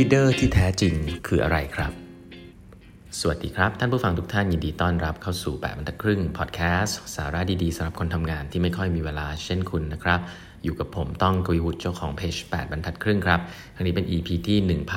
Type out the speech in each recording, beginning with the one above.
leader ที่แท้จริงคืออะไรครับสวัสดีครับท่านผู้ฟังทุกท่านยินดีต้อนรับเข้าสู่8บรรทัดครึ่งพอดแคสต์สาระดีๆสำหรับคนทำงานที่ไม่ค่อยมีเวลาเช่นคุณนะครับอยู่กับผมต้องกวีวุฒิเจ้าของเพจ8บรรทัดครึ่งครับครั้งนี้เป็น EP ที่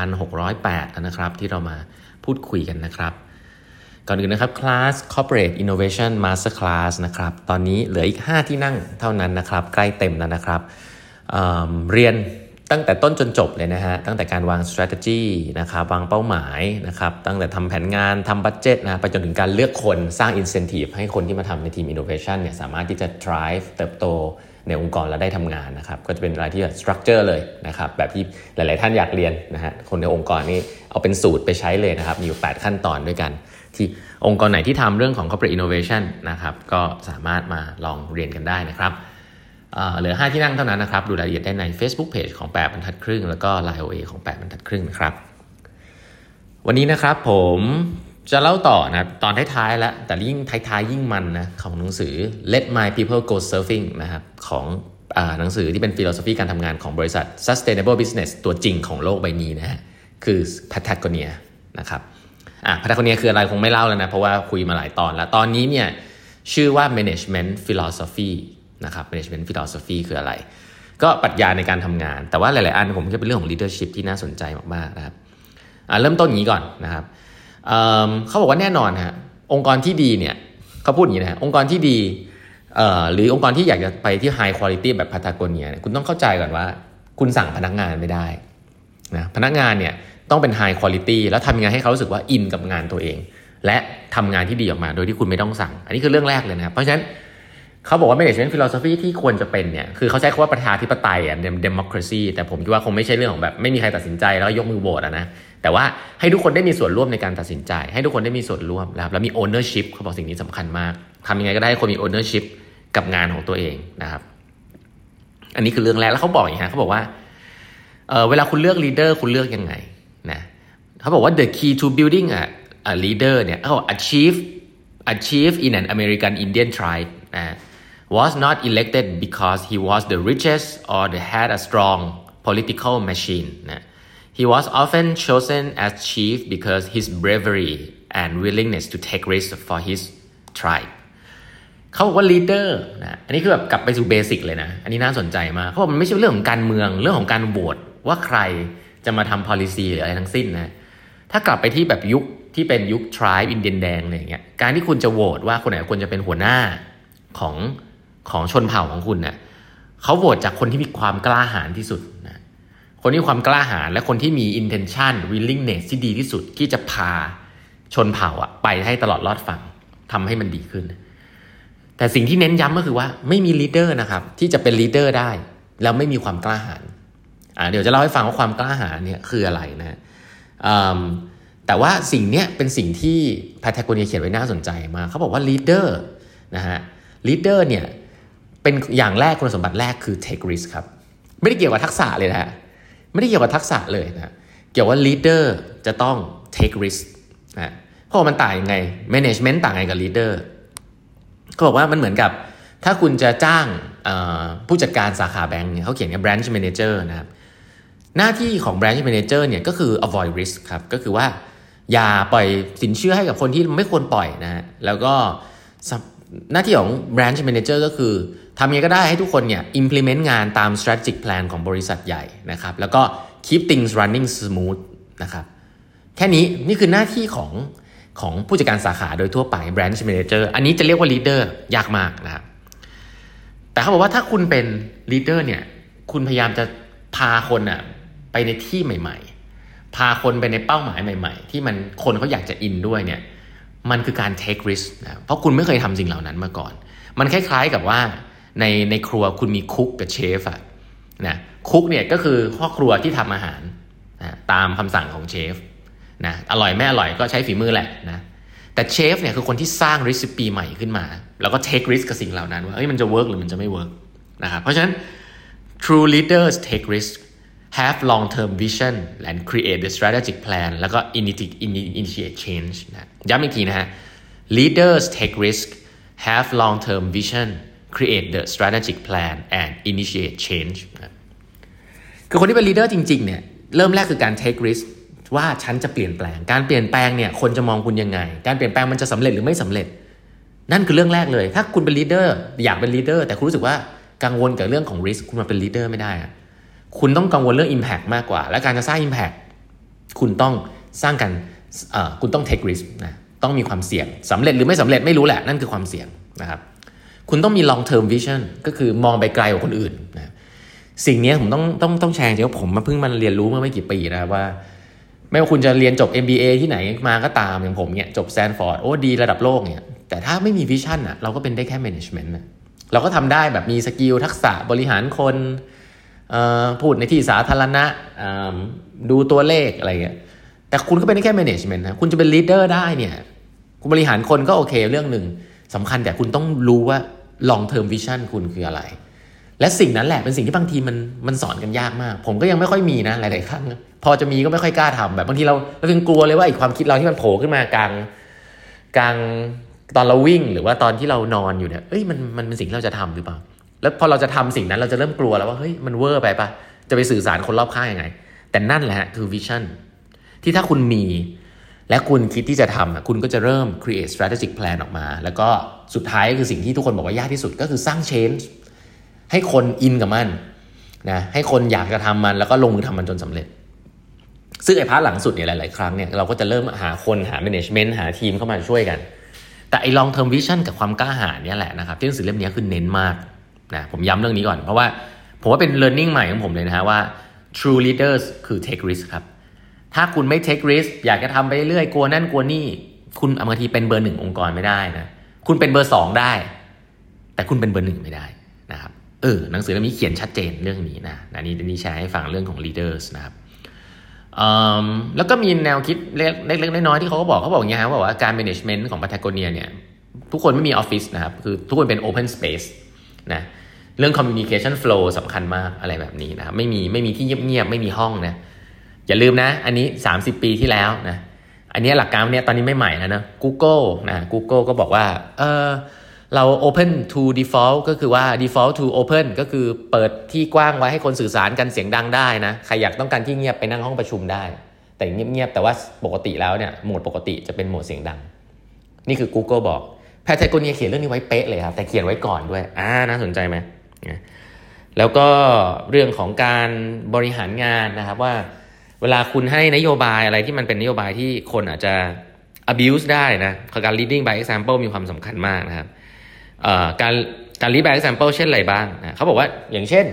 1608 แล้วนะครับที่เรามาพูดคุยกันนะครับก่อนอื่นนะครับคลาส Corporate Innovation Master Class นะครับตอนนี้เหลืออีก5ที่นั่งเท่านั้นนะครับใกล้เต็มแล้วนะครับเรียนตั้งแต่ต้นจนจบเลยนะฮะตั้งแต่การวาง strategy นะครับวางเป้าหมายนะครับตั้งแต่ทำแผนงานทำบัดเจ็ตนะไปจนถึงการเลือกคนสร้าง incentive ให้คนที่มาทำในทีม innovation เนี่ยสามารถที่จะ drive เติบโตในองค์กรและได้ทำงานนะครับก็จะเป็นอะไรที่ structure เลยนะครับแบบที่หลายๆท่านอยากเรียนนะฮะคนในองค์กรนี่เอาเป็นสูตรไปใช้เลยนะครับมีอยู่8ขั้นตอนด้วยกันที่องค์กรไหนที่ทำเรื่องของ corporate innovation นะครับก็สามารถมาลองเรียนกันได้นะครับเหลือ5ที่นั่งเท่านั้นนะครับดูรายละเอียดได้ใน Facebook Page ของ8บรรทัดครึ่งแล้วก็ Line OA ของ8บรรทัดครึ่งนะครับวันนี้นะครับผมจะเล่าต่อนะตอนท้ายๆแล้วแต่ยิ่งท้ายๆยิ่งมันนะของหนังสือ Let My People Go Surfing นะครับของหนังสือที่เป็น philosophy การทำงานของบริษัท Sustainable Business ตัวจริงของโลกใบนี้นะฮะคือ Patagonia นะครับPatagonia คืออะไรคงไม่เล่าแล้วนะเพราะว่าคุยมาหลายตอนแล้วตอนนี้เนี่ยชื่อว่า Management Philosophyนะครับ Management Philosophy คืออะไรก็ปรัชญาในการทำงานแต่ว่าหลายๆอันผมคิดเป็นเรื่องของ leadership ที่น่าสนใจมากๆนะครับเริ่มต้นอย่างนี้ก่อนนะครับเขาบอกว่าแน่นอนฮะองค์กรที่ดีเนี่ยเขาพูดอย่างนี้นะฮะองค์กรที่ดีหรือองค์กรที่อยากจะไปที่ high quality แบบ Patagonia เนี่ยคุณต้องเข้าใจก่อนว่าคุณสั่งพนักงานไม่ได้นะพนักงานเนี่ยต้องเป็น high quality แล้วทำยังไงให้เขารู้สึกว่าอินกับงานตัวเองและทำงานที่ดีออกมาโดยที่คุณไม่ต้องสั่งอันนี้คือเรื่องแรกเลยนะครับเพราะฉะนั้นเขาบอกว่า management philosophy ที่ควรจะเป็นเนี่ยคือเขาใช้คำว่าประชาธิปไตยdemocracy แต่ผมคิดว่าคงไม่ใช่เรื่องของแบบไม่มีใครตัดสินใจแล้วยกมือโหวตนะแต่ว่าให้ทุกคนได้มีส่วนร่วมในการตัดสินใจให้ทุกคนได้มีส่วนร่วมแล้วมี ownership เขาบอกสิ่งนี้สำคัญมากทำยังไงก็ได้ให้คนมี ownership กับงานของตัวเองนะครับอันนี้คือเรื่องแรกแล้วเขาบอกอย่างนี้เขาบอกว่าเวลาคุณเลือก leader คุณเลือกยังไงนะเขาบอกว่า the key to building a leader เนี่ยเขา achieve in an American Indian tribe was not elected because he was the richest or had a strong political machine. He was often chosen as chief because his bravery and willingness to take risks for his tribe. เขาบอกว่า leader นะอันนี้คือแบบกลับไปสู่เบสิกเลยนะอันนี้น่าสนใจมากเพราะมันไม่ใช่เรื่องของการเมืองเรื่องของการโหวตว่าใครจะมาทำ policy หรืออะไรทั้งสิ้นนะถ้ากลับไปที่แบบยุคที่เป็นยุค tribe อินเดียนแดงอะไรอย่างเงี้ยการที่คุณจะโหวตว่าคนไหนควรจะเป็นหัวหน้าของชนเผ่าของคุณเนี่ยเขาโหวตจากคนที่มีความกล้าหาญที่สุดนะคนที่มีความกล้าหาญและคนที่มี intention willingness ที่ดีที่สุดที่จะพาชนเผ่าไปให้ตลอดรอดฝั่งทำให้มันดีขึ้นแต่สิ่งที่เน้นย้ำก็คือว่าไม่มี leader นะครับที่จะเป็น leader ได้แล้วไม่มีความกล้าหาญเดี๋ยวจะเล่าให้ฟังว่าความกล้าหาญเนี่ยคืออะไรนะแต่ว่าสิ่งนี้เป็นสิ่งที่ Patagonia เขียนไว้น่าสนใจมากเขาบอกว่า leader นะฮะ leader เนี่ยเป็นอย่างแรกคุณสมบัติแรกคือ take risk ครับไม่ได้เกี่ยวกับทักษะเลยนะฮะไม่ได้เกี่ยวกับทักษะเลยนะเกี่ยวว่า leader จะต้อง take risk นะเพราะมันต่างยังไง management ต่างไงกับ leader เขาบอกว่ามันเหมือนกับถ้าคุณจะจ้างผู้จัดการสาขาแบงก์เนี่ยเขาเขียนกับ branch manager นะครับหน้าที่ของ branch manager เนี่ยก็คือ avoid risk ครับก็คือว่าอย่าปล่อยสินเชื่อให้กับคนที่ไม่ควรปล่อยนะฮะแล้วก็หน้าที่ของ branch manager ก็คือทำยังไงก็ได้ให้ทุกคนเนี่ย implement งานตาม strategic plan ของบริษัทใหญ่นะครับแล้วก็ keep things running smooth นะครับแค่นี้นี่คือหน้าที่ของผู้จัดการสาขาโดยทั่วไป branch manager อันนี้จะเรียกว่า leader ยากมากนะครับแต่เขาบอกว่าถ้าคุณเป็น leader เนี่ยคุณพยายามจะพาคนไปในที่ใหม่ๆพาคนไปในเป้าหมายใหม่ๆที่มันคนเขาอยากจะอินด้วยเนี่ยมันคือการ take risk นะเพราะคุณไม่เคยทำสิ่งเหล่านั้นมาก่อนมันคล้ายๆกับว่าในครัวคุณมีคุกกับเชฟนะคุกเนี่ยก็คือพ่อครัวที่ทำอาหารนะตามคำสั่งของเชฟนะอร่อยไม่อร่อยก็ใช้ฝีมือแหละนะแต่เชฟเนี่ยคือคนที่สร้างรีซิปีใหม่ขึ้นมาแล้วก็ take risk กับสิ่งเหล่านั้นว่ามันจะ work หรือมันจะไม่ work นะครับเพราะฉะนั้น true leaders take risk have long-term vision and create the strategic plan แล้วก็ initiate change นะย้ำอีกทีนะฮะ leaders take risk have long-term vision create the strategic plan and initiate change นะคือคนที่เป็น leader จริงๆเนี่ยเริ่มแรกคือการ take risk ว่าฉันจะเปลี่ยนแปลงการเปลี่ยนแปลงเนี่ยคนจะมองคุณยังไงการเปลี่ยนแปลงมันจะสำเร็จหรือไม่สำเร็จนั่นคือเรื่องแรกเลยถ้าคุณเป็นลีดเดอร์อยากเป็นลีดเดอร์แต่คุณรู้สึกว่ากังวลกับเรื่องของ risk คุณมาเป็นลีดเดอร์ไม่ได้คุณต้องกังวลเรื่อง impact มากกว่าและการจะสร้าง impact คุณต้องสร้างกันคุณต้อง take risk นะต้องมีความเสี่ยงสำเร็จหรือไม่สำเร็จไม่รู้แหละนั่นคือความเสี่ยงนะครับคุณต้องมี long term vision ก็คือมองไปไกลกว่าคนอื่นนะสิ่งนี้ผมต้องแชร์จริงๆว่าผมเพิ่งมาเรียนรู้เมื่อไม่กี่ปีนะว่าไม่ว่าคุณจะเรียนจบ MBA ที่ไหนมาก็ตามอย่างผมเนี่ยจบ Stanford โอ้ดีระดับโลกเนี่ยแต่ถ้าไม่มีวิชั่นอ่ะเราก็เป็นได้แค่ management นะเราก็ทำได้แบบมีสกิลทักษะบริหารคนพูดในที่สาธารณะดูตัวเลขอะไรเงี้ยแต่คุณก็เป็นได้แค่ management นะคุณจะเป็น leader ได้เนี่ยคุณบริหารคนก็โอเคเรื่องนึงสำคัญแต่คุณต้องรู้ว่า long term vision คุณคืออะไรและสิ่งนั้นแหละเป็นสิ่งที่บางทีมันสอนกันยากมากผมก็ยังไม่ค่อยมีนะหลายๆครั้งพอจะมีก็ไม่ค่อยกล้าทำแบบบางทีเรายังกลัวเลยว่าไอ้ความคิดเราที่มันโผล่ขึ้นมากลางตอนเราวิ่งหรือว่าตอนที่เรานอนอยู่เนี่ยมันเป็นสิ่งที่เราจะทำหรือเปล่าแล้วพอเราจะทำสิ่งนั้นเราจะเริ่มกลัวแล้วว่าเฮ้ยมันเวอร์ไปปะจะไปสื่อสารคนรอบข้างยังไงแต่นั่นแหละคือวิชั่นที่ถ้าคุณมีและคุณคิดที่จะทำคุณก็จะเริ่ม create strategic plan ออกมาแล้วก็สุดท้ายก็คือสิ่งที่ทุกคนบอกว่ายากที่สุดก็คือสร้าง change ให้คนอินกับมันนะให้คนอยากจะทำมันแล้วก็ลงมือทำมันจนสำเร็จซึ่งไอ้พาร์ทหลังสุดเนี่ยหลายๆครั้งเนี่ยเราก็จะเริ่มหาคนหา management หาทีมเข้ามาช่วยกันแต่ไอ้ long term vision กับความกล้าหาญเนี่ยแหละนะครับที่หนังสือเล่มนี้คือเน้นมากนะผมย้ำเรื่องนี้ก่อนเพราะว่าผมว่าเป็น learning ใหม่ของผมเลยนะฮะว่า true leaders คือ take risk ครับถ้าคุณไม่ take risk อยากจะทำไปเรื่อยกลัวนั่นกลัวนี่คุณบางทีเป็นเบอร์1องค์กรไม่ได้นะคุณเป็นเบอร์2ได้แต่คุณเป็นเบอร์1ไม่ได้นะครับหนังสือเล่มนี้เขียนชัดเจนเรื่องนี้นะนี่แชร์ให้ฟังเรื่องของ leaders นะครับแล้วก็มีแนวคิดเล็กๆน้อยๆที่เขาก็บอกอย่างเงี้ยครับว่าการ management ของ Patagonia เนี่ยทุกคนไม่มีออฟฟิศนะครับคือทุกคนเป็น open space นะเรื่อง communication flow สำคัญมากอะไรแบบนี้นะครับไม่มีที่เงียบๆไม่มีห้องนะอย่าลืมนะอันนี้30 ปีที่แล้วนะอันนี้หลักการเนี่ยตอนนี้ไม่ใหม่แล้วนะ Google ก็บอกว่าเรา open to default ก็คือว่า default to open ก็คือเปิดที่กว้างไว้ให้คนสื่อสารกันเสียงดังได้นะใครอยากต้องการที่เงียบไปนั่งห้องประชุมได้แต่เงียบๆแต่ว่าปกติแล้วเนี่ยโหมดปกติจะเป็นโหมดเสียงดังนี่คือ Google บอก Patagonia เขียนเรื่องนี้ไว้เป๊ะเลยครับแต่เขียนไว้ก่อนด้วยน่าสนใจไหมแล้วก็เรื่องของการบริหารงานนะครับว่าเวลาคุณให้นโยบายอะไรที่มันเป็นนโยบายที่คนอาจจะ abuse ได้นะการ leading by example มีความสำคัญมากนะครับการ lead by example เช่นอะไรบ้างนะเขาบอกว่าอย่างเช่น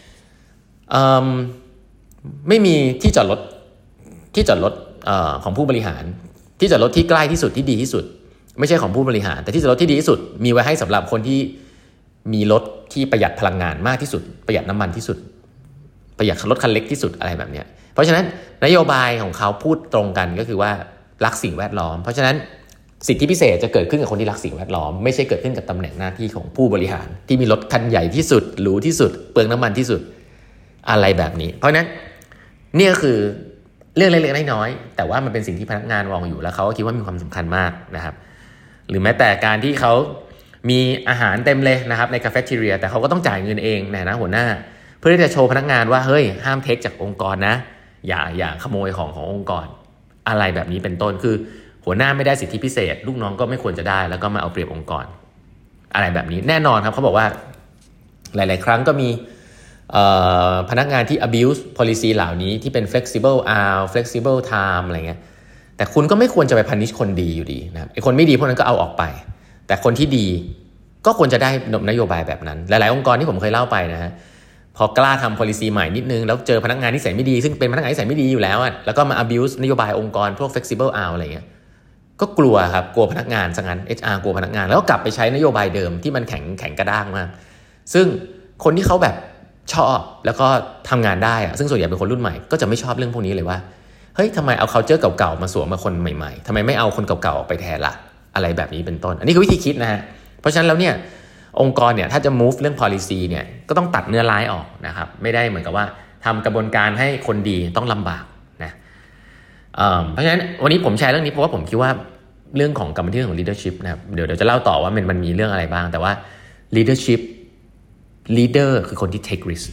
ไม่มีที่จอดรถของผู้บริหารที่จอดรถที่ใกล้ที่สุดที่ดีที่สุดไม่ใช่ของผู้บริหารแต่ที่จอดรถที่ดีที่สุดมีไว้ให้สำหรับคนที่มีรถที่ประหยัดพลังงานมากที่สุดประหยัดน้ำมันที่สุดประหยัดรถคันเล็กที่สุดอะไรแบบนี้เพราะฉะนั้นนโยบายของเขาพูดตรงกันก็คือว่ารักสิ่งแวดล้อมเพราะฉะนั้นสิทธิพิเศษจะเกิดขึ้นกับคนที่รักสิ่งแวดล้อมไม่ใช่เกิดขึ้นกับตำแหน่งหน้าที่ของผู้บริหารที่มีรถคันใหญ่ที่สุดหรูที่สุดเปลืองน้ำมันที่สุดอะไรแบบนี้เพราะฉะนั้นนี่ก็คือเรื่องเล็กๆน้อยๆแต่ว่ามันเป็นสิ่งที่พนักงานมองอยู่แล้วเขาก็คิดว่ามีความสำคัญมากนะครับหรือแม้แต่การที่เขามีอาหารเต็มเลยนะครับในคาเฟ่ทีเรียแต่เขาก็ต้องจ่ายเงินเองนะหัวหน้าเพื่อที่จะโชว์พนักงานว่าเฮ้ยห้ามเทคจากองค์กรนะอย่าขโมยขององค์กรอะไรแบบนี้เป็นต้นคือหัวหน้าไม่ได้สิทธิพิเศษลูกน้องก็ไม่ควรจะได้แล้วก็มาเอาเปรียบองค์กรอะไรแบบนี้แน่นอนครับเขาบอกว่าหลายๆครั้งก็มีพนักงานที่ abuse policy เหล่านี้ที่เป็น flexible hour flexible time อะไรเงี้ยแต่คุณก็ไม่ควรจะไป punish คนดีอยู่ดีนะครับไอ้คนไม่ดีพวกนั้นก็เอาออกไปแต่คนที่ดีก็ควรจะได้นโยบายแบบนั้นหลายๆองค์กรที่ผมเคยเล่าไปนะฮะพอกล้าทำ policy ใหม่นิดนึงแล้วเจอพนักงานที่นิสัยไม่ดีซึ่งเป็นพนักงานที่นิสัยไม่ดีอยู่แล้วแล้วก็มา abuse นโยบายองค์กรพวก flexible hour อะไรเงี้ยก็กลัวครับกลัวพนักงานซะงั้น HR กลัวพนักงานแล้วก็กลับไปใช้นโยบายเดิมที่มันแข็งกระด้างมากซึ่งคนที่เขาแบบชอบแล้วก็ทำงานได้ซึ่งส่วนใหญ่เป็นคนรุ่นใหม่ก็จะไม่ชอบเรื่องพวกนี้เลยว่าเฮ้ยทำไมเอา culture เก่าๆมาสวมมาคนใหม่ๆทำไมไม่เอาคนเก่าๆออกไปแทนล่ะอะไรแบบนี้เป็นต้นอันนี้คือวิธีคิดนะฮะเพราะฉะนั้นแล้วเนี่ยองค์กรเนี่ยถ้าจะ move เรื่อง policy เนี่ยก็ต้องตัดเนื้อร้ายออกนะครับไม่ได้เหมือนกับว่าทำกระบวนการให้คนดีต้องลำบากนะเพราะฉะนั้นวันนี้ผมแชร์เรื่องนี้เพราะว่าผมคิดว่าเรื่องของกรรมวิธีของ leadership นะครับเดี๋ยวจะเล่าต่อว่ามันมีเรื่องอะไรบ้างแต่ว่า leader คือคนที่ take risk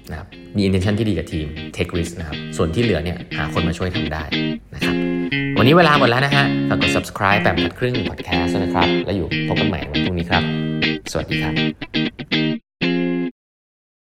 นะครับมี intention ที่ดีกับทีม take risk นะครับส่วนที่เหลือเนี่ยหาคนมาช่วยทำได้นะครับวันนี้เวลาหมดแล้วนะฮะฝากกด subscribe แบบพัดครึ่ง podcast นะครับแล้วอยู่พบกันใหม่วันพรุ่งนี้ครับสวัสดีครับ